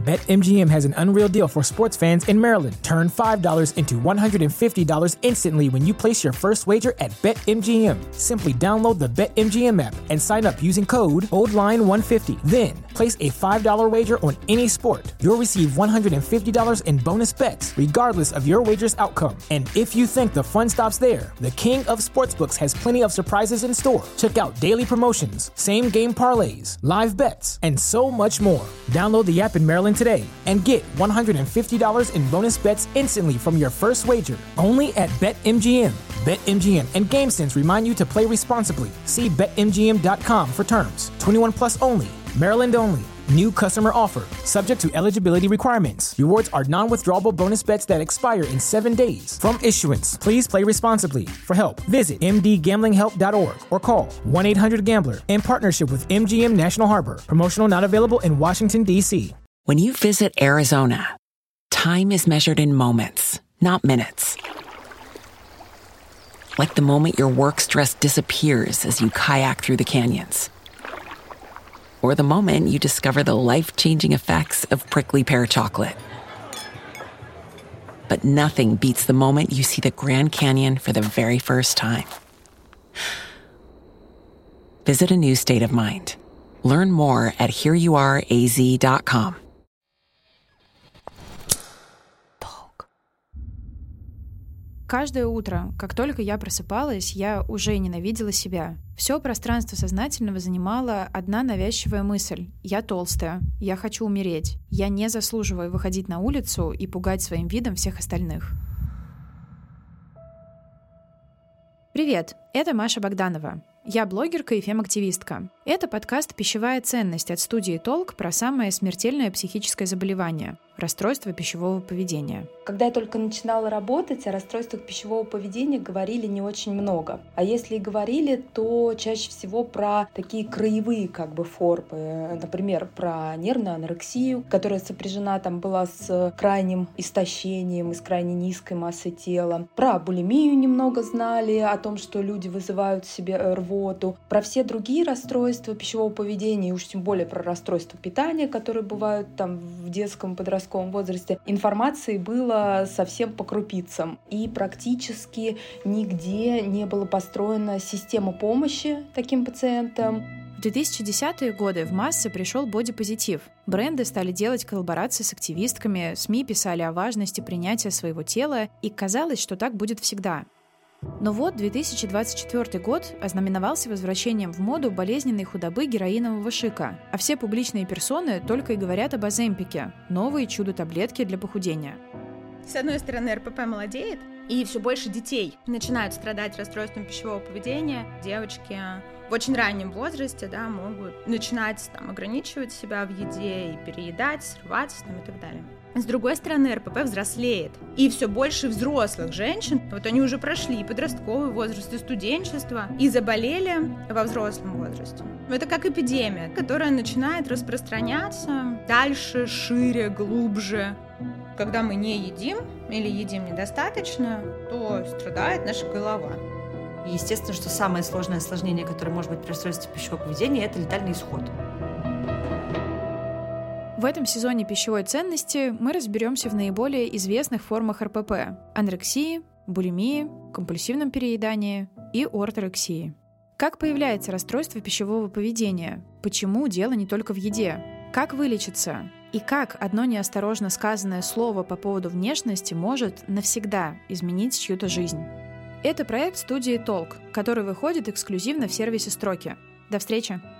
BetMGM has an unreal deal for sports fans in Maryland. Turn $5 into $150 instantly when you place your first wager at BetMGM. Simply download the BetMGM app and sign up using code OldLine150. Then, place a $5 wager on any sport. You'll receive $150 in bonus bets, regardless of your wager's outcome. And if you think the fun stops there, the King of Sportsbooks has plenty of surprises in store. Check out daily promotions, same-game parlays, live bets, and so much more. Download the app in Maryland today and get $150 in bonus bets instantly from your first wager. Only at BetMGM. BetMGM and GameSense remind you to play responsibly. See BetMGM.com for terms. 21 plus only. Maryland only. New customer offer. Subject to eligibility requirements. Rewards are non-withdrawable bonus bets that expire in 7 days. From issuance, please play responsibly. For help, visit mdgamblinghelp.org or call 1-800-GAMBLER in partnership with MGM National Harbor. Promotional not available in Washington, D.C. When you visit Arizona, time is measured in moments, not minutes. Like the moment your work stress disappears as you kayak through the canyons. Or the moment you discover the life-changing effects of prickly pear chocolate. But nothing beats the moment you see the Grand Canyon for the very first time. Visit a new state of mind. Learn more at hereyouareaz.com. Каждое утро, как только я просыпалась, я уже ненавидела себя. Все пространство сознательного занимала одна навязчивая мысль. Я толстая, я хочу умереть. Я не заслуживаю выходить на улицу и пугать своим видом всех остальных. Привет, это Маша Богданова. Я блогерка и фем-активистка. Это подкаст «Пищевая ценность» от студии «Толк» про самое смертельное психическое заболевание – расстройство пищевого поведения. Когда я только начинала работать, о расстройствах пищевого поведения говорили не очень много. А если и говорили, то чаще всего про такие краевые формы. Например, про нервную анорексию, которая сопряжена была с крайним истощением и с крайне низкой массой тела. Про булимию немного знали, о том, что люди вызывают в себе рвоту. Про все другие расстройства пищевого поведения, и уж тем более про расстройства питания, которые бывают в детском и подростковом возрасте, информации было совсем по крупицам. И практически нигде не была построена система помощи таким пациентам. В 2010-е годы в массы пришел бодипозитив. Бренды стали делать коллаборации с активистками, СМИ писали о важности принятия своего тела, и казалось, что так будет всегда. Но вот 2024 год ознаменовался возвращением в моду болезненной худобы героинового шика, а все публичные персоны только и говорят об Оземпике – новые чудо-таблетки для похудения. С одной стороны, РПП молодеет, и все больше детей начинают страдать расстройством пищевого поведения. Девочки в очень раннем возрасте могут начинать ограничивать себя в еде и переедать, срываться и так далее. С другой стороны, РПП взрослеет, и все больше взрослых женщин, они уже прошли и подростковый возраст, и студенчество, и заболели во взрослом возрасте. Это как эпидемия, которая начинает распространяться дальше, шире, глубже. Когда мы не едим или едим недостаточно, то страдает наша голова. Естественно, что самое сложное осложнение, которое может быть при расстройстве пищевого поведения, это летальный исход. В этом сезоне пищевой ценности мы разберемся в наиболее известных формах РПП – анорексии, булимии, компульсивном переедании и орторексии. Как появляется расстройство пищевого поведения? Почему дело не только в еде? Как вылечиться? И как одно неосторожно сказанное слово по поводу внешности может навсегда изменить чью-то жизнь? Это проект студии «Толк», который выходит эксклюзивно в сервисе «Строки». До встречи!